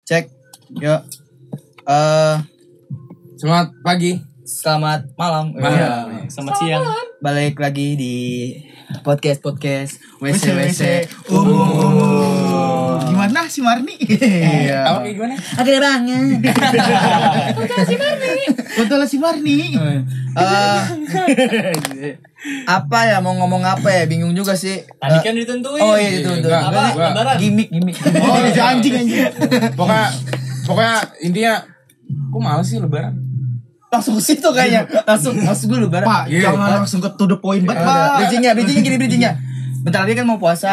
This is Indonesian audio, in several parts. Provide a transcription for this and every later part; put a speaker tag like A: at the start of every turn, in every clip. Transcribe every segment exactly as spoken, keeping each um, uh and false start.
A: Cek. Yuk. Eh,
B: Selamat pagi.
A: selamat malam.
B: Malam.
A: Ya, selamat siang. Balik lagi di podcast podcast W C W C umum.
C: Gimana si Marni?
A: Iya.
B: Apa kayak gimana?
A: Ada banget.
C: Betul si Marni.
A: Eh, apa ya mau ngomong apa ya? Bingung juga sih.
D: Tadi
A: Eh,
D: kan ditentuin.
A: Oh iya itu itu.
B: Enggak,
D: Apa?
B: enggak.
D: Lebaran.
A: Gimik gimik.
C: Oh, si anjing anjing.
B: Pokoknya pokoknya intinya kok males sih lebaran.
A: Langsung ke situ kayaknya. Langsung masuk dulu bareng.
C: Pak,
B: Iya.
C: jangan langsung ke to the point banget,
A: Udah.
C: Pak.
A: Bridgingnya, bridgingnya gini bridgingnya. Bentar lagi kan mau puasa.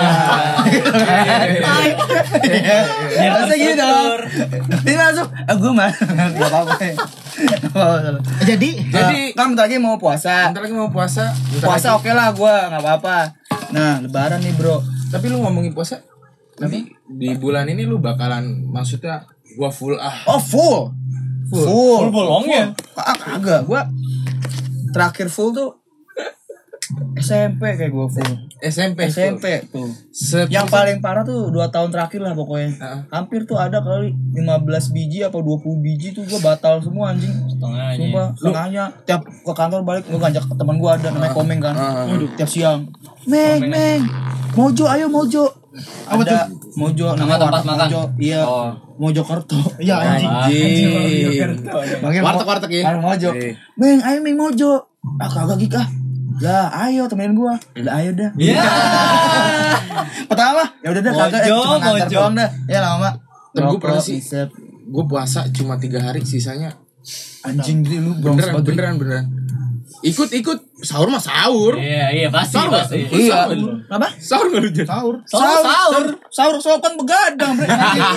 A: Ya masa gini dong. Ini langsung, ah gue mah nggak apa-apa. Nggak apa-apa.
C: Jadi,
A: Jadi kan bentar lagi mau puasa.
B: Bentar lagi mau puasa. bentar
A: Puasa
B: lagi.
A: oke lah gue nggak apa-apa. Nah lebaran nih bro.
B: Tapi lu ngomongin puasa. Nanti di bulan ini lu bakalan maksudnya gua full ah.
A: Oh full. Full.
D: Full bolongnya.
A: Ah kagak. Gue terakhir full tuh S M P kayak gue full.
B: S M P.
A: S M P tuh.
B: Set-
A: Yang paling parah tuh dua tahun terakhir lah pokoknya.
B: Heeh.
A: Hampir tuh ada kali lima belas biji apa dua puluh biji tuh gue batal semua anjing.
D: Setengahnya.
A: Sumpah, setengahnya tiap ke kantor balik gue ngajak teman gue ada namanya Komeng kan.
B: Ah.
A: Waduh, tiap siang. Meng, Meng. Mojo ayo Mojo.
C: Apa
A: Ada Mojo
D: Nama tempat
A: warteg
D: makan.
A: Mojo. Iya.
D: Oh.
A: Mojokerto.
C: ya anjing.
B: Anjing.
A: Manggil
B: Warteg-warteg ya?
A: Warteg Mojo.
B: Iya.
A: Meng, ayo Meng Mojo. Ah kagak Gik ah. Lah, ayo temenin gua. Lah ayo dah.
D: Iya.
A: Pertama, ya udah dah kagak eh,
D: Mojo,
A: cuma ngantar
D: Mojo.
A: doang dah. Ya lama.
B: Tapi gua
A: Rokok,
B: pernah sih.
A: isep.
B: Gue puasa cuma tiga hari, sisanya
A: Anjing jadi lu bronx
B: beneran
A: banget.
B: beneran beneran. Ikut ikut sahur mah sahur.
D: Iya, iya pasti
B: Sahur nggak?
D: pasti.
B: Ikut
A: Iya.
B: sahur.
A: Apa?
B: Sahur nggak lu Jan?
C: Sahur.
D: Sahur, sahur.
A: Sahur sahur kan begadang, Bre.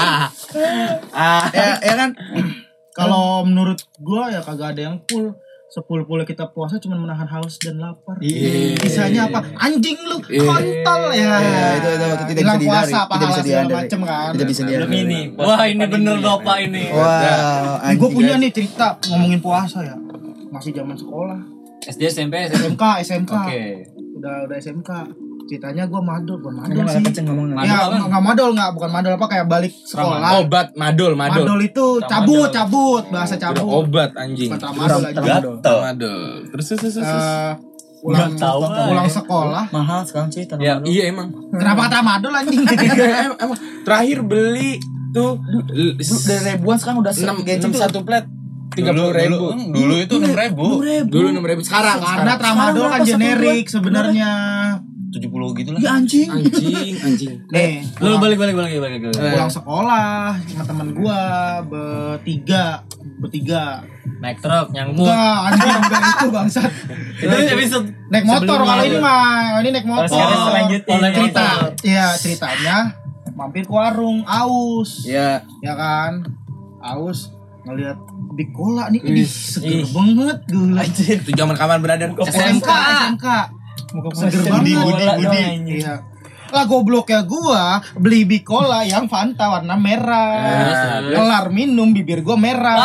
B: Ah.
A: ya, ya kan?
C: Kalau menurut gua ya kagak ada yang full. Sepuluh-puluh kita puasa cuma menahan haus dan lapar.
A: Iya.
C: Sisanya apa? Anjing lu,
B: Iya.
C: kontol ya.
A: Iya, itu- itu- itu tidak bisa
C: Bilang
A: dihindari.
C: puasa,
A: Tidak
C: pahala
A: bisa
C: segala
A: dihindari.
C: macem kan.
A: Tidak bisa
D: Belum
A: dihindari.
D: ini. Wah, ini bener Bapak ini.
A: Wah,
C: Nih, gua
A: anjing,
C: punya
A: guys.
C: nih cerita ngomongin puasa ya. Masih zaman sekolah.
D: S D, S M P, S M P.
C: S M K, S M K.
D: Oke.
C: Udah udah S M K. Ceritanya gua madol, bukan madol
A: Ngomong
C: sih.
A: kenceng ngomongnya.
D: Madol
C: Ya,
D: apa?
C: enggak madol enggak, bukan madol apa kayak balik sekolah.
B: Obat madol madol.
C: Madol itu cabut, cabut, bahasa
B: Udah
C: cabut.
B: obat anjing.
C: Bukan tramadol aja.
A: Tramadol.
B: Madol. Terus terus terus. terus.
C: Eh, pulang
D: Nggak tahu,
C: pulang
D: ya.
C: sekolah.
A: Mahal sekarang sih
B: Ya,
A: tanaman.
B: iya emang.
C: Kenapa tramadol anjing?
B: Em- emang terakhir beli tuh
A: Dari ribuan sekarang udah
B: enam
A: gadget tuh.
B: satu plat tiga puluh ribu.
D: Dulu itu enam ribu.
B: Dulu enam ribu sekarang.
C: Karena
B: sekarang.
C: tramadol
A: Sekarang
C: kan
A: berapa, satu
C: generik
A: bulan?
C: sebenarnya.
D: tujuh puluh gitu lah.
A: Ya anjing.
B: Anjing anjing.
C: Nih,
D: Lu balik balik balik balik. balik.
B: Eh.
C: pulang sekolah sama teman gua bertiga, bertiga.
D: Naik truk nyangkut.
C: Enggak, anjing enggak itu bangsat.
D: Itu episode
C: Naik motor
D: sebelumnya.
C: kalau ini mah, ini naik motor.
D: sekarang selanjutnya.
C: Oh, cerita.
D: motor.
C: Iya, ceritanya mampir ke warung aus.
A: Ya,
C: Ya kan? Aus ngelihat Big Cola nih, ini
B: Ih,
C: seger
D: ih.
C: banget gula.
B: Itu zaman kapan brother?
C: S M K, S M K. Seger
D: Budi,
C: banget.
D: Budi, Budi.
C: Iya. Lah gobloknya gua beli Big Cola yang Fanta warna merah.
B: Eh,
C: Kelar minum bibir gua merah.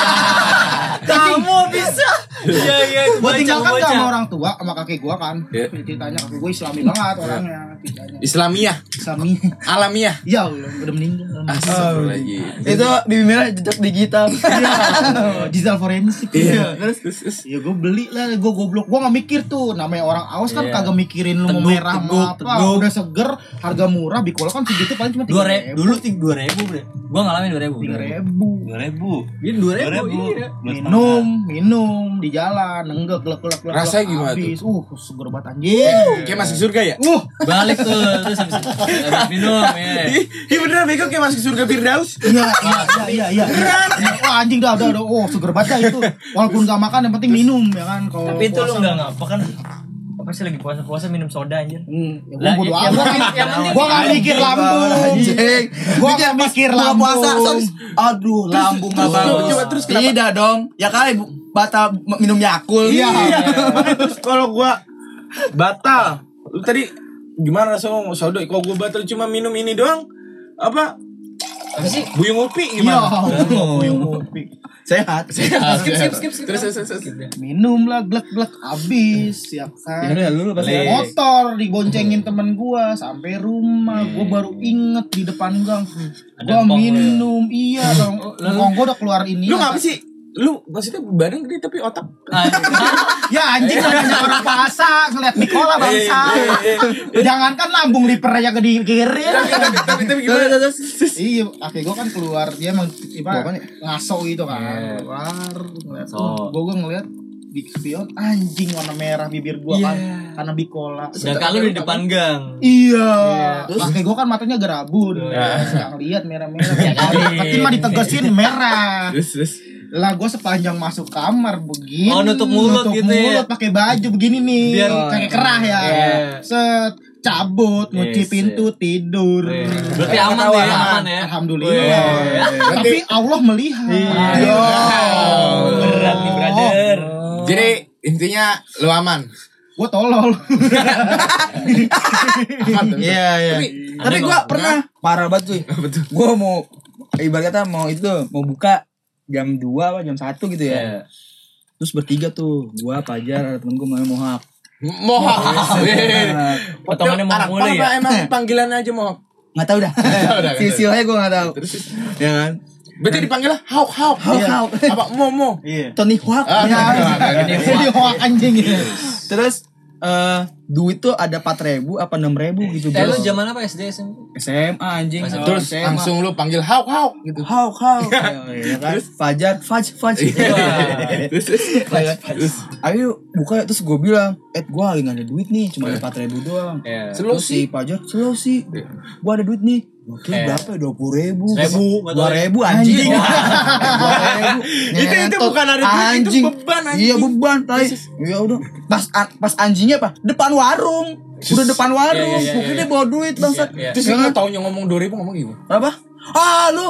D: Kamu bisa. Iya iya.
C: Gua
D: Baca,
C: tinggal kan
D: baca.
C: sama orang tua sama kakek gua kan.
B: Iya.
C: Ceritanya kakek gua Islami banget orangnya, ceritanya.
B: Islamiyah,
C: Islami.
B: alamiah.
C: Ya Allah, udah meninggal.
B: Astagfirullahaladzim.
A: itu di merah jejak digital.
C: Iya, digital forensik.
B: Iya.
C: Terus
B: Terus, terus.
C: ya gue beli lah, gue goblok, gue nggak mikir tuh, namanya orang aus kan
D: Iya.
C: kagak mikirin lu mau
D: Teguk,
C: merah
D: teguk,
C: mau apa,
D: teguk.
C: udah seger, harga murah, Bikola kan segitu paling cuma
D: Dua
C: tiga
D: ribu. Dulu tiga dua ribu bre. Gua ngalamin dua ribu.
C: tiga ribu.
D: Dua ribu. Ini dua ribu. Iya.
C: Minum, minum di jalan, enggak gelek gelek gelek.
B: Rasanya gimana
C: habis. Uh, seger banget anjing.
B: Kayak masuk surga ya?
C: Uh,
D: Balik tuh terus habis habis minum ya.
B: Ih, ih beneran bego kayak masuk surga Firdaus.
C: iya iya iya iya. Wah anjing dah udah udah, oh seger banget dah itu. Walaupun gak makan yang penting minum ya kan. Kalau
D: Tapi itu lu
C: puasa-
D: enggak ngapa kan? Apa sih lagi puasa-puasa minum soda anjir?
C: Hmm, ya
D: Lah,
C: gua bodo
D: yang
C: amat.
D: penting- yang penting-
C: Gua gak mikir lambung.
A: Anjing.
C: Gua gak mikir
A: Buka
C: lambung.
A: puasa terus, aduh lambung nggak
B: terus,
A: bagus.
B: coba, terus kenapa?
A: Tidak dong. Ya kali bu- batal m- minum Yakult.
C: Iya.
B: Terus kalau gua batal, lu tadi gimana rasanya ngomong sodo? Kalau gua batal cuma minum ini doang, apa?
D: Apa sih?
B: Buyung upi
C: Iya,
B: gimana?
C: buyung kopi.
A: Sehat.
B: Sehat.
D: Skip, skip, skip, skip.
B: Terus terus terus.
C: Minum lah glek-glek habis ya
A: Ya
C: kan.
A: udah lu lu pasti.
D: Lek.
C: Motor diboncengin temen gua sampai rumah, gua baru inget di depan gang.
D: Ada
C: Gua
D: empong
C: minum, iya dong. Empong gua udah keluar ini.
B: Lu ngapa sih? Lu maksudnya badan gede tapi otak.
C: Ya anjing namanya orang puasa ngeliat Nikola bangsa. Jangankan lambung liper aja gede kiri.
B: Tapi tapi gimana?
C: Iya, kakek gua kan keluar dia emang
A: Bawa
C: apa
A: nih?
C: ngaso gitu kan.
D: Iya.
C: Keluar ngeliat
D: So.
C: gua gua ngeliat di spion anjing warna merah bibir gua kan karena bikola.
D: Sedangkan lu di depan gang.
C: Iya.
A: Terus?
C: Kakek gua kan matanya gerabun.
D: Iya.
C: Yang lihat merah-merah. Ya
D: kali.
C: Tapi mah ditegesin merah.
B: Terus terus.
C: Lah gue sepanjang masuk kamar begini.
D: Oh, nutup mulut
C: nutup
D: gitu
C: mulut
D: ya?
C: pakai baju begini nih.
D: Biar-
C: kayak kerah ya.
D: Iya.
C: Set cabut, ngunci
D: Yes,
C: pintu, tidur.
D: Iya. Berarti aman
C: Ketawa,
D: ya, aman ya?
C: Alhamdulillah.
D: Iya.
C: Tapi Allah melihat.
B: Iya.
D: Berat nih, brother.
B: Jadi intinya lu aman.
C: Gue tolol.
B: Aman tuh.
A: Iya iya.
B: Tapi
A: Tapi
D: ada
A: gua
D: kok.
A: pernah parah banget cuy.
B: betul.
A: Gua mau ibarat kata mau itu tuh, mau buka jam dua apa jam satu gitu ya.
D: Iya.
A: Terus bertiga tuh, gua Pajar ada temen gua namanya Mohak.
B: Mohak.
A: Nah,
D: Potongannya mau
B: Anak
D: mulai
B: apa
D: ya?
B: emang panggilan aja mohak.
A: nggak tahu dah.
B: Udah,
A: Silsilahnya gua nggak tahu.
B: Terus
A: Ya kan?
B: berarti dipanggilnya hauk hauk.
A: Hauk,
B: Iya.
A: hauk.
B: Apa momo?
C: Iya.
A: Tony Hawk.
B: Ah,
A: Ya.
C: Jadi hoak anjing.
A: Terus eh duit tuh ada empat ribu apa enam ribu gitu.
D: Eh lu
A: bro.
D: zaman apa S D S M P?
A: S M A anjing.
D: Masih-
B: Terus
A: S M A.
B: langsung lu panggil hauk hauk gitu.
A: Hauk hauk. Ya kan? Fajar, Faj, Faj.
B: Terus terus.
A: Terus ayo buka, terus gue bilang, eh gue lagi gak ada duit nih, cuma ada empat ribu doang.
D: Iya.
B: Slow
A: Terus si Fajar, slow sih, gue ada duit nih. Oke,
D: Eh.
A: berapa ya? Dua puluh ribu.
D: Seribu,
A: Dua ribu anjing. Dua ribu.
B: Itu- itu
A: Ngentot.
B: bukan ada duit, itu
A: Anjing.
B: beban, anjing.
A: Iya beban. Tai. Ya udah. Pas pas anjingnya apa? Depan warung. Udah depan warung.
D: Iya, iya, iya,
A: Mungkin
D: iya.
A: dia bawa duit bangsat.
D: Iya, iya.
B: Terus
A: Ya
B: lu
A: kan?
B: taunya ngomong dua ribu ngomong gimana?
A: Apa? Ah lu.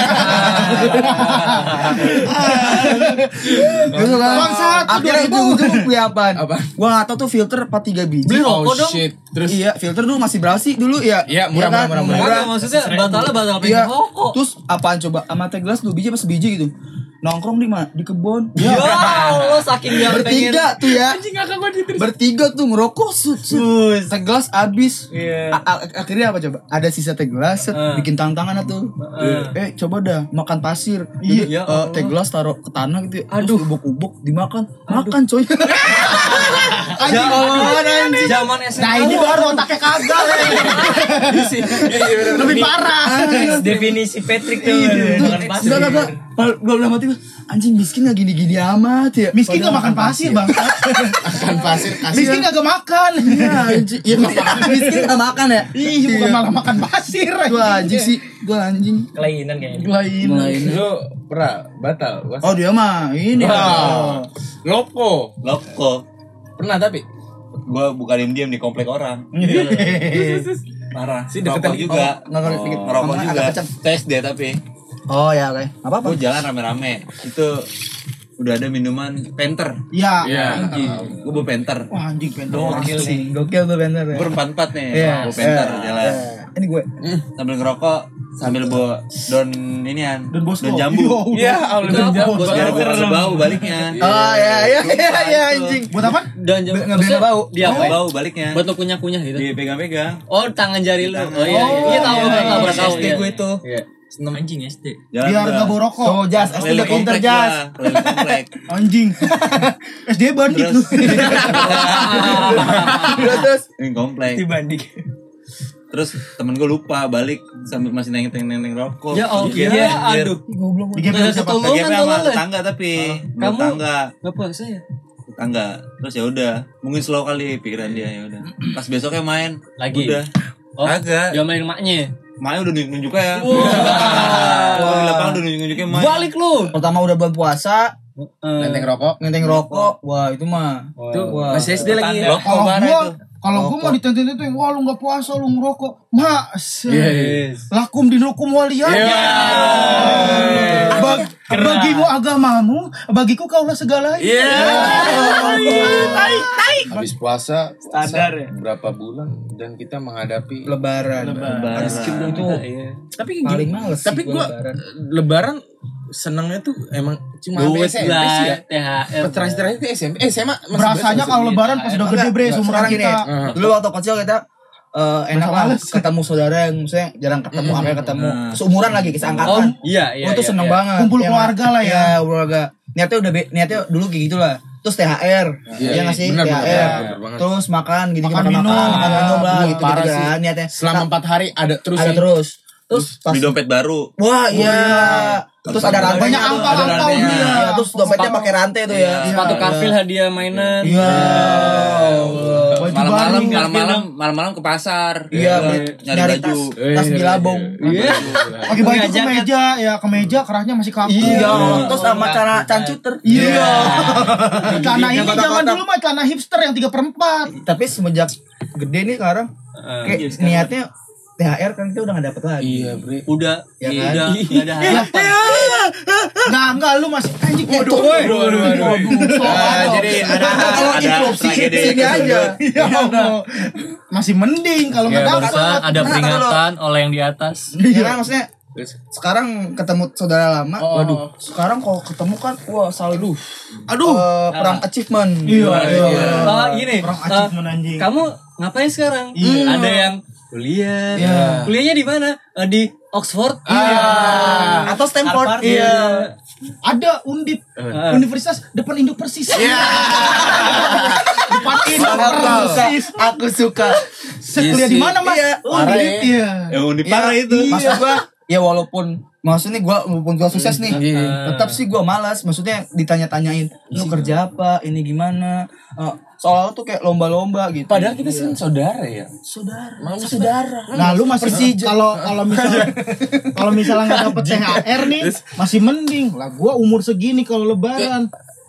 A: Gitu kan.
C: Bangsat,
A: Akhirnya
C: dua ribu.
A: ujung-ujung beli apaan?
B: Apaan?
A: Gua gak tau tuh filter empat tiga biji.
D: Beli rokok
B: Oh
D: dong.
B: shit. Terus
A: Iya, filter dulu masih berapa sih dulu ya?
B: Iya, murah,
A: kan?
B: murah, murah,
D: Murah, maksudnya batalnya batal pengen
A: Iya.
D: rokok.
A: Terus apaan coba? Sama teh gelas dua biji apa sebiji gitu? Nongkrong di mana? Di kebun.
D: Ya Allah, saking dia pengen.
A: Bertiga tuh ya.
B: anjing ngakak gua di terus.
A: Bertiga tuh ngerokok sut sut. Teh gelas habis.
D: Iya.
A: A- a- akhirnya apa coba? Ada sisa teh gelas, set,
D: Eh.
A: bikin tantangan tuh. Eh, coba dah makan pasir.
D: Iya,
A: Jadi,
D: ya
A: eh,
D: Allah.
A: teh gelas taruh ke tanah gitu. Ya.
D: Aduh.
A: Terus ubuk-ubuk dimakan. Makan coy. Anjing
D: Zaman
A: anjing.
D: zaman S M P.
C: Nah ini baru otaknya kagak. Lebih parah.
D: Definisi Patrick tuh.
A: Iya,
D: Makan
A: tuh,
D: pasir.
A: enggak, enggak, enggak. Gua bilang mati, anjing miskin gak gini-gini amat ya.
C: Miskin
A: Padahal
C: gak makan pasir bang.
B: Makan pasir kasih.
C: Miskin gak makan.
A: Iya, anjing. Iya, miskin gak makan ya.
C: Ih bukan malah makan pasir.
A: Gua anjing sih, gua anjing.
D: Kelainan kayaknya.
C: Lain.
A: Lain.
B: Lu pernah batal? Gua-
A: Oh, dia mah ini.
B: Wah. Loko.
E: Loko.
B: Pernah tapi
E: Gua buka diem-diem di komplek orang. Parah.
B: Si
E: Rokok
B: deketan
E: juga.
A: Oh, nggak ngerti dikit.
E: Ngerokok
A: Ngomongnya
E: juga.
A: agak kencang.
E: Tes deh tapi.
A: Oh, ya, oke. Apa-apa.
E: Gua jalan rame-rame. Itu udah ada minuman Penter.
C: Iya.
B: Iya.
E: Anjing. Gua bawa Penter.
C: Wah anjing pengen.
A: Gokil sih. Gokil tuh bener ya.
E: Berempat-empat nih.
A: Iya.
E: Bawa Penter
A: Iya.
E: jalan.
A: Iya. Ini gue.
E: Sambil ngerokok, sambil bawa daun inian.
C: Daun Bosco.
E: Daun jambu.
B: Iya, Allah
D: Itu apa?
B: jambu.
D: Bos
E: Biar
D: jambu.
E: gua bau baliknya.
A: Oh, ya, ya, ya, ya, anjing.
C: Buat apa?
D: Dan jam
A: Nggak bisa bau.
D: Dia apa?
E: Bau baliknya.
D: Buat lo kunyah-kunyah gitu.
E: Dipegang-pegang.
D: Oh, tangan jari lu. Oh iya,
C: Oh,
D: iya tahu,
C: iya,
D: tahu, tahu,
A: iya.
D: tahu.
A: S D gue itu.
D: Iya. Seneng anjing S D.
E: Jalan
C: Biar
E: gua.
C: gak bawa rokok.
A: Oh, jas, S D udah
E: Keliling
A: pinter
E: komplek
A: jas.
E: gua, keliling komplek.
C: Anjing. S D bandit lu.
E: Terus
A: Terus, terus.
E: keliling komplek.
D: Dibanding.
E: Terus temen gue lupa balik sambil masih neng-neng rokok.
D: Ya Allah,
E: Iya,
D: iya,
E: anjir.
D: aduh.
A: Goblok.
C: Di game
D: Nggak
C: siapa?
D: ketulungan
E: Lagi apa sama
D: tolong, Le.
E: tetangga tapi
D: Kamu-
E: kamu tetangga
D: Gak puasa ya?
E: tetangga terus ya udah mungkin slow kali pikiran dia ya udah pas besoknya main
D: Lagi?
E: udah
D: Oh,
E: agak
D: dia main maknya.
E: main udah nunjuk nunjuk ya
D: Wah.
E: wah di lapangan udah nunjuk nunjuknya main
D: Balik lu.
A: Pertama udah bulan puasa,
B: Nenteng rokok.
A: ngenteng rokok. Wah, itu mah.
B: Tuh,
A: Wah.
B: masih S D lagi.
E: rokok
C: Kalau
E: bareng
C: gua
E: itu
C: kalau gua mau ditenteng-tenteng, wah lu gak puasa lu ngerokok. Mas.
B: Yes.
C: Lakum dinukum waliya. Bag, bagimu agamamu, bagiku kaulah segalanya.
B: Iya.
C: Tai, tai.
B: Habis puasa, puasa
D: Standar ya?
B: berapa bulan dan kita menghadapi
A: Lebaran.
D: Lebaran.
A: Itu
D: Iya.
B: tapi
A: paling
B: gini,
A: males sih
B: tapi
A: gua
B: gua
A: lebaran.
B: lebaran senengnya tuh emang cuma
D: Duit
B: S M P sih ya.
D: lah, T H R.
B: Terakhir terakhir itu S M P, eh S M A masih
C: Berasanya
B: berasa
C: kalau
B: masih-
C: lebaran pas udah gede bre seumuran
A: Sekarang gini,
C: kita.
B: Heeh.
A: dulu waktu kecil kita eh, enak lah
C: males.
A: ketemu saudara yang maksudnya jarang ketemu, sampai ketemu seumuran lagi
D: Oh,
A: seangkatan.
D: iya iya.
A: Gue tuh
D: iya,
A: seneng
D: iya.
A: banget.
C: Kumpul
A: Ya,
C: keluarga lah ya.
A: Iya, keluarga. Niatnya udah be- niatnya dulu kayak gitu lah. Terus T H R,
B: Iya,
A: ya nggak sih?
B: benar,
A: T H
B: benar,
A: R.
B: benar banget.
A: Terus makan, gini
C: Makan
A: makan
C: minum.
A: makan, makan
C: Iya.
A: minum lah
B: Wah,
A: gitu
B: parah
A: gitu
B: sih.
A: kan niatnya.
B: Selama
A: Nah,
B: empat hari ada terus
A: ada
B: ya.
A: terus. Terus pas
E: Beli dompet baru.
A: wah iya. Terus ada rantainya
C: Banyak
A: tuh,
C: angpau,
A: ada
C: angpau
A: rantainya.
C: dia.
A: Iya, terus dompetnya pakai rantai tuh ya.
D: Sepatu karfil hadiah mainan.
A: Iya.
C: Baju
E: Malam-malam,
C: baru.
E: malam-malam, malam-malam ke pasar.
A: Iya,
E: Nyari
A: beli- nyari
E: baju.
A: tas, tas bilabong.
D: Iya.
C: Pakai baju
D: Ngajak,
C: kemeja, ya kemeja kerahnya masih kaku.
A: Iya, terus sama cara cancuter.
C: Iya. Celana ini
A: Yang kotak-kotak.
C: zaman dulu mah celana hipster yang tiga per empat.
A: Tapi semenjak gede nih sekarang kayak niatnya T H R kan kita udah gak dapet lagi.
B: Iya, Bre.
D: Udah,
A: Ya
D: iya,
A: kan?
D: udah, nggak ada harapan.
C: Enggak, enggak lu masih anjing
A: Waduh,
C: itu.
A: waduh, waduh, waduh.
B: Nah, jadi ada
A: Kalau
E: ada
A: interupsi
E: tragedi.
A: sini aja.
C: Ya Allah. Masih mending kalau
D: Ya,
C: enggak
D: barusan
C: dapat.
D: ada
A: Nah,
D: peringatan oleh yang di atas.
A: Ya kan maksudnya sekarang ketemu saudara lama, waduh. Sekarang kalau ketemu kan wah selalu
B: Aduh.
A: eh, perang achievement.
C: Iya, iya.
D: Oh, gini,
C: Orang
D: eh,
C: achievement anjing.
D: kamu ngapain sekarang?
C: Iya.
D: Ada yang kuliah.
A: Iya.
D: Kuliahnya di mana? Eh, di Oxford.
A: Ah, atau Stanford.
D: Harvard.
A: Iya.
C: Ada Undip Universitas depan Indo Persis. Iya. Depan Indo Persis.
A: Aku suka.
C: Kuliah di mana, Mas?
A: Iya.
C: Undip. Iya.
E: Yang unik parah itu.
A: Maksud gua ya walaupun maksudnya gua walaupun gua sukses nih, tetap sih gua malas. Maksudnya ditanya-tanyain, lu kerja apa, ini gimana? Eh, soalnya tuh kayak lomba-lomba gitu.
B: Padahal kita sih saudara ya.
A: saudara,
B: Manusia.
A: saudara.
C: Nah, lu masih kalau kalau misalnya kalau misalnya nggak dapet T H R nih masih mending lah. Gua umur segini kalau lebaran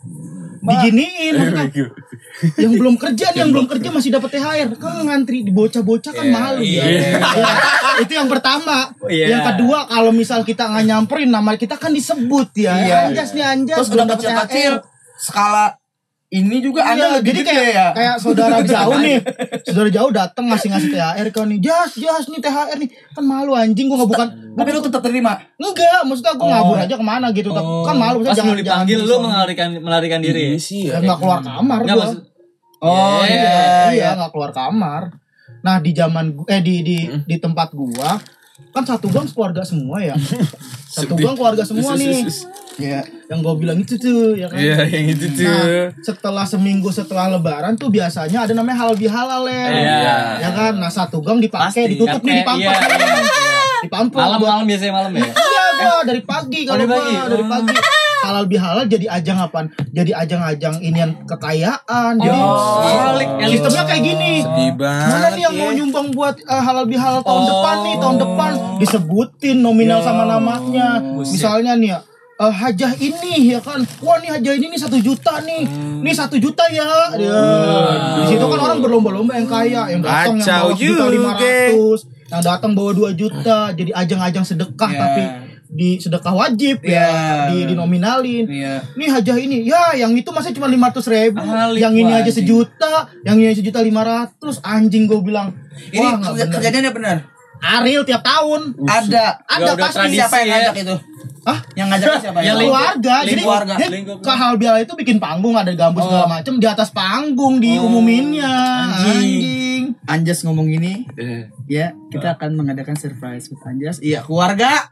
C: diginiin maksudnya. Yang belum kerja nih, yang belum kerja masih dapat T H R kan ngantri di bocah-bocah kan malu ya. Ya, itu yang pertama.
D: Iya.
C: Yang kedua kalau misal kita nggak nyamperin nama kita kan disebut ya.
A: Iya.
C: Anjas nih anjas
A: Terus
C: belum
A: udah
C: dapet T H R.
A: kecil-kecil skala ini juga
C: Iya,
A: ada lebih
C: jadi
A: gede
C: kayak
A: ya.
C: kayak saudara jauh nih, saudara jauh datang ngasih-ngasih T H R kan nih, jas jas nih T H R nih, kan malu anjing gua nggak bukan,
A: Tapi lu tetap terima.
C: enggak, maksudnya gua ngabur aja kemana gitu, tapi kan malu,
D: Pas
C: maksudnya
D: mau dipanggil
C: jangan
D: lu
C: jangan-
D: melarikan melarikan diri.
B: sih
C: ya nggak keluar kamar
D: Nggak,
C: gua,
D: maksud
A: Oh
D: Iya,
A: iya,
C: iya
A: iya.
C: nggak keluar kamar. Nah di zaman gu- eh di di di tempat gua kan satu gang keluarga semua ya, satu gang keluarga semua nih,
A: Iya.
C: yang gua bilang itu tuh ya kan.
B: Iya, yang itu tuh.
C: Nah, setelah seminggu setelah lebaran tuh biasanya ada namanya halal bihalal ya.
D: Iya.
C: Ya kan? Nah, satu gang dipakai,
D: Pasti.
C: ditutup nih
D: Iya,
C: dipampang.
D: iya, iya.
C: Dipampang.
D: Malam-malam biasanya malam ya.
C: Iya, gua dari pagi kalau
D: dari
C: gua
D: pagi?
C: dari pagi. Halal bihalal jadi ajang apaan? Jadi ajang-ajang inian kekayaan. Jadi
D: Balik elit.
C: sistemnya kayak gini.
B: Sedih banget.
C: Mana nih yang mau nyumbang buat eh, halal bihalal tahun
D: Oh.
C: depan nih, tahun depan disebutin nominal sama namanya. Misalnya nih ya, eh, hajah ini ya kan, wah nih hajah ini nih satu juta nih, nih satu juta ya. Ya. Di situ kan orang berlomba-lomba yang kaya, yang datang yang
B: Kacau
C: bawa juta
B: juga.
C: lima ratus, yang datang bawa dua juta, jadi ajang-ajang sedekah
A: Ya.
C: tapi di sedekah wajib
A: Ya.
C: ya, di dinominalin.
A: Iya.
C: Nih hajah ini, ya yang itu masa cuma lima ratus ribu,
D: Alik,
C: yang ini
D: wah,
C: aja
D: anjing.
C: sejuta, yang ini aja sejuta lima ratus, anjing gue bilang,
A: Ini
C: wah nggak
A: kerja-
C: bener.
A: kerjanya benar.
C: Ariel tiap tahun,
A: Ada.
C: ada
D: udah
C: pasti
D: tradisi
A: Siapa yang
D: ya.
A: ngajak itu?
C: Hah?
A: Yang ngajak siapa?
D: Yang
A: Yang
D: lingkup-
C: keluarga, jadi
D: lingkup
A: keluarga.
C: dia
D: lingkup.
C: ke Halbial itu bikin panggung, ada gambus segala macem di atas panggung diumuminnya, anjing.
A: Anjas ngomong gini, ya kita akan mengadakan surprise buat Anjas. Iya, keluarga.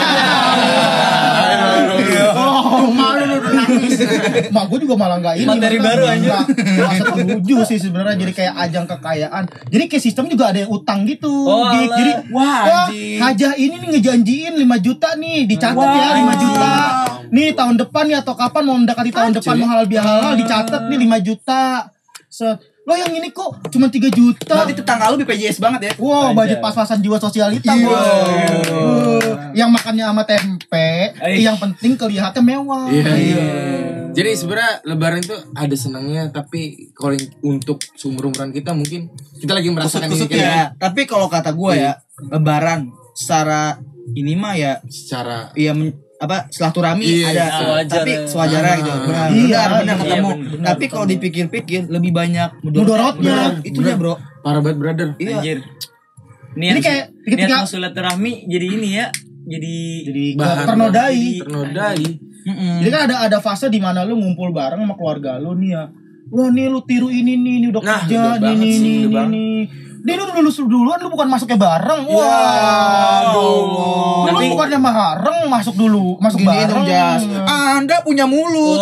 C: Oh, malu lu udah nangis. Mak gue juga malah nggak ini.
D: Materi
C: maksudnya
D: baru aja.
C: nggak- nggak setuju sih sebenarnya. Jadi kayak ajang kekayaan. Jadi kayak sistem juga ada yang utang gitu.
D: Oh,
C: Dik.
D: alah.
C: Jadi
A: Wah,
C: wah,
A: anjing.
C: hajah ini nih ngejanjiin lima juta nih, dicatat ya lima juta. Nih tahun depan ya atau kapan mau mendekati tahun depan mau halal bihalal dicatat nih lima juta. Set. Lo yang ini kok cuma tiga juta.
A: Berarti tetangga lu B P J S banget ya?
C: Wow, budget pas-pasan jiwa sosialita
A: Iya.
C: bos. Uh, yang makannya sama tempe, yang penting kelihatannya mewah.
B: Iya. Jadi sebenarnya lebaran itu ada senangnya, tapi kalau yang untuk seumur-umuran kita mungkin kita lagi merasakan ini
A: Kusut
B: kayak
A: ya. Tapi kalau kata gue ya, lebaran secara ini mah ya
B: secara
A: ya men- apa silaturahmi
B: Iya,
A: ada
D: sewajarnya.
A: tapi sewajarnya gitu. Benar,
C: Iya,
A: benar, benar
C: iya,
A: ketemu.
D: benar,
A: Tapi kalau dipikir-pikir lebih banyak
C: Mudorotnya.
A: Mudorot. Itunya, Bro.
B: parah banget brother.
A: Iya.
D: Anjir.
C: Ini
D: Niat,
C: kayak
D: niat
C: ketika-
D: mau silaturahmi jadi ini ya. jadi
C: Jadi
B: Bahan
C: ternodai.
B: Ternodai.
C: Jadi kan ada ada fase di mana lu ngumpul bareng sama keluarga lu nih ya. Wah nih lu tiru ini nih, nih udah
B: Nah,
C: kerja
B: udah
C: nih
B: banget
C: nih
B: sih,
C: nih
B: udah
C: nih,
B: banget.
C: nih. Dia lu lulus duluan lu bukan masuknya bareng. Wah.
A: Aduh.
C: Lu
D: Tapi-
C: bukannya bareng masuk dulu, masuk
A: Gini
C: bareng.
A: dong Jas. Anda punya mulut.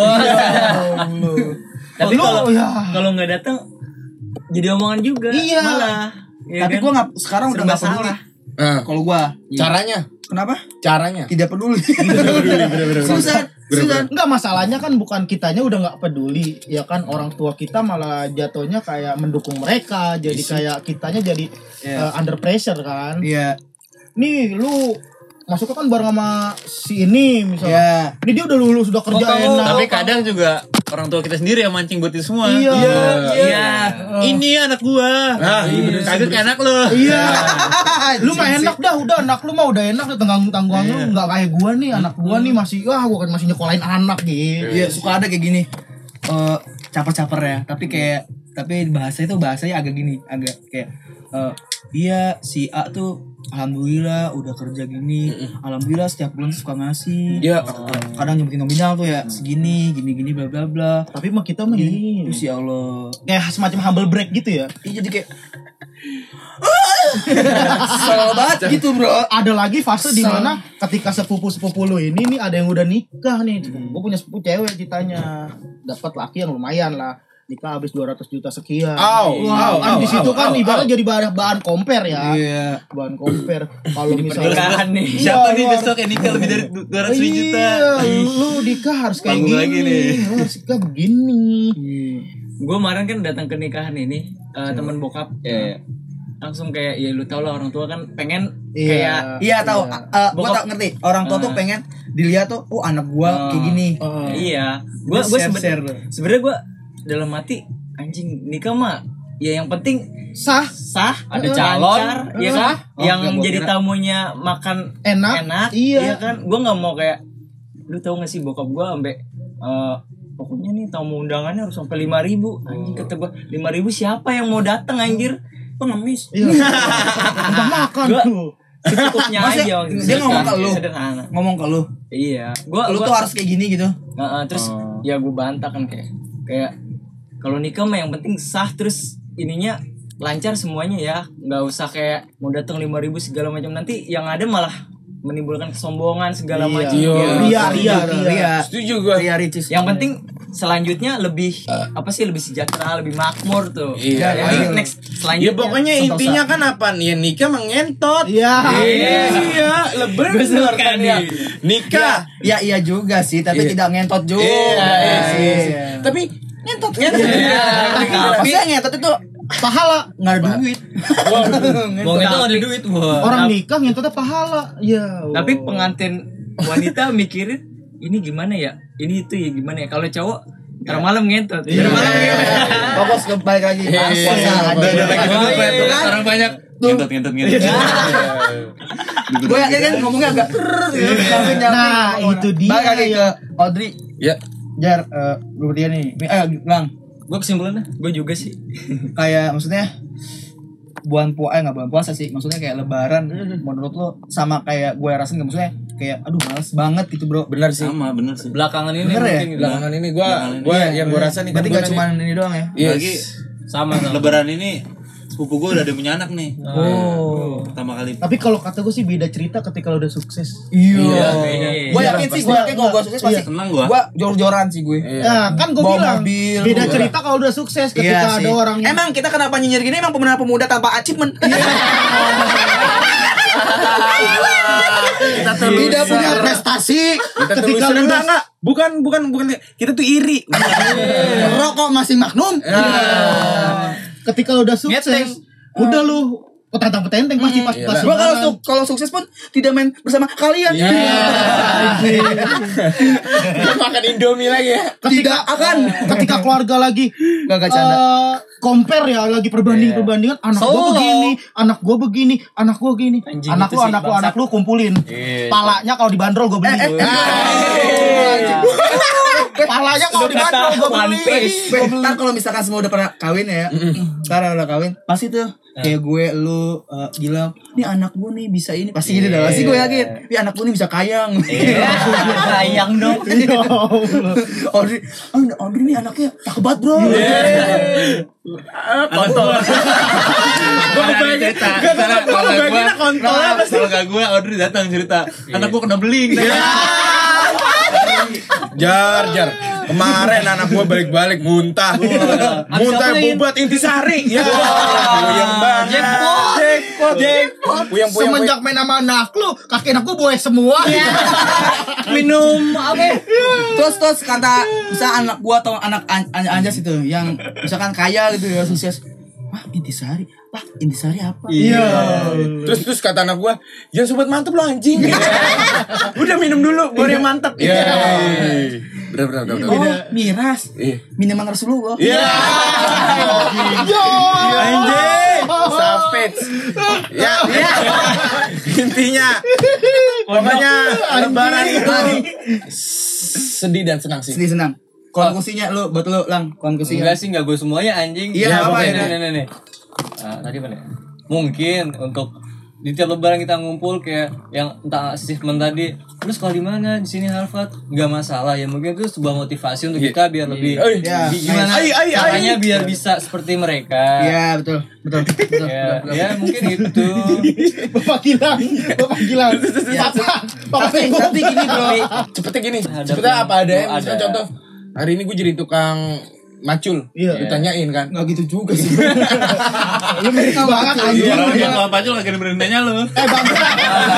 D: tapi
C: Lu,
D: kalau
C: ya.
D: kalau nggak datang jadi omongan juga
C: Iya.
D: malah. Ya
A: Tapi
D: kan?
A: gua nggak sekarang udah
D: Serba
A: nggak peduli.
D: salah.
B: Nah,
A: Kalau gua
B: caranya,
A: kenapa?
B: caranya.
A: Tidak peduli. Susah, susah.
C: Enggak, masalahnya kan bukan kitanya udah nggak peduli ya kan, orang tua kita malah jatuhnya kayak mendukung mereka, jadi kayak kitanya jadi
A: Iya.
C: uh, under pressure kan.
A: Iya.
C: Nih lu masuknya kan bareng sama si ini misalnya.
A: Iya.
C: Ini dia udah lulus, udah kerja
D: kamu-
C: enak.
E: Tapi kadang juga orang tua kita sendiri yang mancing buat itu semua.
C: Iya.
D: Iya.
E: Ini anak gua.
B: Nah, iya bener sih,
E: Kagak kayak anak lu.
C: Iya. Lu mah enak dah, udah anak lu mah udah enak, tanggung tanggungan lu nggak kayak gua nih, anak gua nih masih wah gua kan masih nyekolahin anak gitu.
A: Iya, suka ada kayak gini. Eh caper-caper ya, tapi kayak tapi bahasa itu bahasanya agak gini, agak kayak eh iya si A tuh alhamdulillah udah kerja gini. Alhamdulillah setiap bulan suka ngasih.
B: Iya.
A: Eh, kadang nyebutin nominal tuh ya segini, gini-gini bla bla bla.
C: Tapi mah kita mah ini
A: Terus ya Allah.
C: kayak semacam humble break gitu ya.
A: Iya jadi kayak Kesel banget gitu bro.
C: Ada lagi fase di mana ketika sepupu-sepupu lu ini nih ada yang udah nikah nih. Gue punya sepupu cewek ceritanya. Dapat laki yang lumayan lah. Nikah habis dua ratus juta sekian.
B: Au,
C: Wah,
B: au,
C: kan
B: au,
C: di situ
B: au,
C: kan
B: au,
C: ibaratnya
B: au.
C: jadi bahan, bahan compare ya.
A: Iya.
C: Bahan compare. Kalau misalnya
D: pernikahan nih.
C: Iya,
E: Siapa nih
C: lu
E: besok yang nikah lebih dari dua ratus
C: Iya,
E: juta?
C: lu nikah harus kayak
E: Panggung
C: gini.
E: lagi nih.
C: Lu harus nikah begini.
D: Gue kemarin kan datang ke nikahan ini eh, teman bokap.
E: Iya.
D: Langsung kayak ya lu tau lah orang tua kan pengen
C: Iya.
D: kayak
A: Iya tahu. Eh, gua
D: Bokap-
A: tak ngerti. Orang tua tuh pengen dilihat tuh, oh anak gua kayak gini.
C: Oh.
D: iya. Gue gue
A: Share-share.
D: sebenarnya sebenarnya gue dalam hati anjing nikah mah ya yang penting
C: Sah,
D: sah, ada
C: Eh,
D: calon,
C: lancar,
D: ya
C: eh.
D: kan?
A: Oh,
D: yang
A: enggak, gua
D: jadi
A: kira-
D: tamunya makan
C: enak.
D: enak,
C: Iya.
D: kan? Gue nggak mau kayak, lu tau gak sih bokap gue sampai eh, pokoknya nih tamu undangannya harus sampai lima ribu, anjing kata gue lima ribu siapa yang mau datang anjir? Pengemis.
C: Iya. Udah makan
D: Gua-
C: tuh.
D: Secukupnya
A: Maksudnya,
D: aja.
A: dia
D: sederhana,
A: ngomong ke lu?
D: Sederhana.
A: Ngomong ke lu.
D: Iya. Gua
A: Lu
D: gua,
A: tuh harus kayak gini gitu.
D: Heeh, terus ya gue bantah kan kayak kayak kalau nikah mah yang penting sah, terus ininya lancar semuanya ya, nggak usah kayak mau datang lima ribu segala macam, nanti yang ada malah menimbulkan kesombongan segala
C: Iya.
D: macam.
B: Iya.
D: Ya,
C: Ria,
D: setuju.
C: ria,
A: Ria.
B: Setuju gua.
A: Ria Ricis.
D: Yang penting selanjutnya lebih apa sih, lebih sejahtera, lebih makmur tuh.
B: Iya.
D: Jadi
A: Iya.
D: next
B: Ya
D: selanjutnya.
B: pokoknya
A: Sentosa.
B: intinya kan apa nih? Ya nikah mengentot.
C: Iya.
B: Iya, lebar
D: Gua suka
B: kan
D: nih.
B: ya. Nikah.
A: Ya iya juga sih, tapi
B: Iya.
A: tidak ngentot juga.
B: Iya, iya,
A: sih.
B: iya. Tapi ngentot ngentot.
A: Tapi yang ngentot itu
C: Pahala.
A: nggak ada duit.
E: Mau itu ada duit. Wah.
C: Orang nikah ngentotnya pahala. Ya.
D: Tapi
C: Allah.
D: pengantin wanita mikirin ini gimana ya? Ini itu ya gimana ya? Kalau cowok ntar malam ngentot. Ntar malam ngentot.
A: Fokus ke balik lagi.
B: Iya,
A: Puasa
B: iya,
A: aja.
B: iya.
E: Lagi duduk
D: Iya,
E: tuh
D: kan?
E: orang banyak. Ngentot ngentot ngentot.
A: Gue yakin kan ngomongnya agak gitu. Langsung nyampe
C: Nah,
A: ke mana.
C: itu dia
A: Balik lagi ke Audrey.
B: Ya.
A: Jar, eh lu dia nih. Eh, Lang.
D: Gue kesimpulannya, gue juga sih.
A: Kayak maksudnya bulan puasa, eh nggak bulan puasa sih. Maksudnya kayak lebaran. Menurut lo sama kayak gue rasain nggak, maksudnya kayak aduh males banget gitu bro.
B: Benar sih.
E: Sama bener sih.
D: Belakangan ini
A: Bener ya?
D: mungkin
B: Belakangan ini gua
E: Belakangan ini.
B: gua
A: Iya,
B: yang gua rasa nih kan
A: berarti
B: gua
A: gak cuma ini doang ya.
B: Yes.
E: Lagi
D: sama sama.
E: Lebaran ini sepupu gue udah ada yang punya anak nih.
A: Oh.
E: Pertama kali.
C: Tapi kalau kata gue sih beda cerita ketika lo udah sukses.
A: Iya.
D: beda.
A: Gue
C: Iya,
A: yakin sih,
C: pasti.
A: gue yakin kalau gue sukses pasti.
E: Senang gua.
A: Gue jor-joran sih gue.
C: Ya, kan gue
A: Bawa
C: bilang
A: mobil,
C: beda
A: bawa-
C: cerita kalau udah sukses ketika
A: Iya
C: ada
A: sih.
C: orang yang
A: Emang kita kenapa nyinyir gini? Emang pemuda-pemuda tanpa achievement.
C: kita
A: Tidak punya prestasi.
B: Kita
C: Ketika
B: ketika
C: lu
B: enggak
C: udah-
B: enggak. Bukan bukan bukan kita tuh iri.
A: Rokok masih Magnum.
C: ketika lo udah sukses, udah lu petantang-petenteng pasti pas
B: Iya
C: pas
B: lah.
A: Gue kalau
C: lebaran.
A: su- kalau sukses pun tidak main bersama kalian.
B: Makan Indomie lagi ya.
A: Tidak akan.
C: Ketika keluarga lagi
A: Gak gak canda.
C: eh, compare ya, lagi perbanding-perbandingan, anak gua
D: Solo.
C: begini, anak gua begini, anak gua begini.
D: Anjing,
C: anak
D: itu
C: lu,
D: sih,
C: anak lu,
D: bangsat.
C: anak lu kumpulin. Palanya kalau dibanderol gua beli. Palanya kalau dibanderol gua
D: One
C: beli.
D: Piece.
A: Ntar kalau misalkan semua udah pernah kawin ya, sekarang udah kawin, pasti tuh kayak gue lu uh, bilang nih anak gue nih bisa ini pasti gitu dah pasti gue yakin nih anak gue nih bisa kayang
D: Sayang dong.
C: Ya Allah.
A: Audrey Audrey Audrey nih anaknya cakep banget bro
B: Kontol. Gue kebayangin. Gue kebayangin kontol apa sih?
E: Kalau gak gue, Audrey datang cerita, anak gue kena beling.
B: Jar, jar. Kemarin anak gua balik-balik muntah. Muntah bubat intisari. Ya. Puyeng banget.
D: Jackpot.
B: Jackpot. Jackpot. Puyeng puyeng.
C: Semenjak main sama anak lu, kaki anak gua boy semua.
A: minum apa terus terus kata bisa anak gua atau anak an- an- anjas itu yang misalkan kaya gitu ya sukses wah intisari wah intisari apa
C: Iya.
B: Terus terus kata anak gua, "Jangan sobat mantep lo anjing." Udah minum dulu baru yang mantep. Iya. Bener bener bener.
A: oh miras
B: Iya.
A: minuman Rasulullah
B: Iya. Anjing. Savage. Ya, ya. Intinya pokoknya lebaran itu sedih dan senang sih.
A: sedih senang konklusinya lu buat lu lang konklusinya
F: Enggak sih, enggak gue semuanya anjing.
A: Iya, apa
F: nih,
A: ya?
F: nih, nih, nih. Ah, tadi mana? ya? Mungkin untuk di tiap lebaran kita ngumpul kayak yang entah achievement tadi, lu sekolah di mana? Di sini Harvard. Enggak masalah ya, mungkin itu sebuah motivasi untuk
B: Iya.
F: kita biar lebih
B: Iya.
A: Ya.
F: bi- gimana
B: Ai, ai, ai.
F: caranya biar bisa seperti mereka.
A: iya betul betul betul,
F: Ya,
A: betul.
F: ya mungkin itu.
C: Bapak Gilang, Bapak Gilang. Papa, Papa
A: tapi
C: Tengku.
A: tapi gini bro
B: Cepetnya gini,
F: Hadapin.
B: cepetnya apa adanya.
F: Oh,
B: Misalnya
F: ada.
B: contoh, hari ini gue jadi tukang macul.
C: Iya.
B: Ditanyain kan.
A: nggak gitu juga sih
C: Lu mirip banget anjing.
E: Orang dia kalau pacu lagi dengerin nanya lu.
C: Eh bangsa.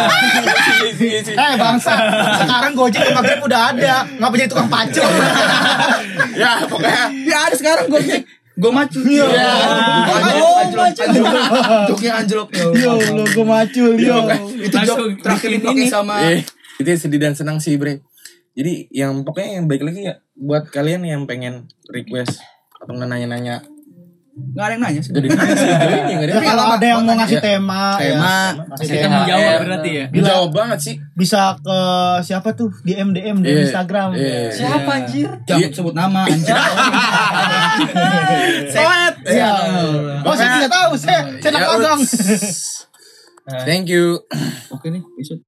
C: Eh bangsa. Sekarang Gojek sama Grab udah ada. Ngapa jadi tukang pacul?
B: Ya pokoknya
A: ya ada sekarang gue cek gue maju
C: Iya.
A: anjlok anjlok anjlok joknya anjlok
C: Yo, lo gue macul yo.
A: itu jok terakhir dipakai sama
B: eh, itu sedih dan senang sih bre. Jadi yang pokoknya yang baik lagi ya buat kalian yang pengen request atau nanya-nanya
A: nggak ada yang nanya sih
B: jadi ini nggak
C: Ya,
B: ada
C: kalau ada yang mau ngasih
B: Ya.
C: tema,
A: tema
C: ya, kasih
F: Kita
C: tema.
F: menjawab
D: Eh,
F: berarti ya.
B: jawab banget sih.
C: Bisa ke siapa tuh di M D M di
B: Iya.
C: Instagram.
B: Iya.
F: Siapa anjir?
A: jangan sebut nama anjir
B: Soet.
C: Iya. Oh, saya tidak tahu, saya saya
B: Ya,
C: anak magang.
B: Thank you.
A: oke nih besok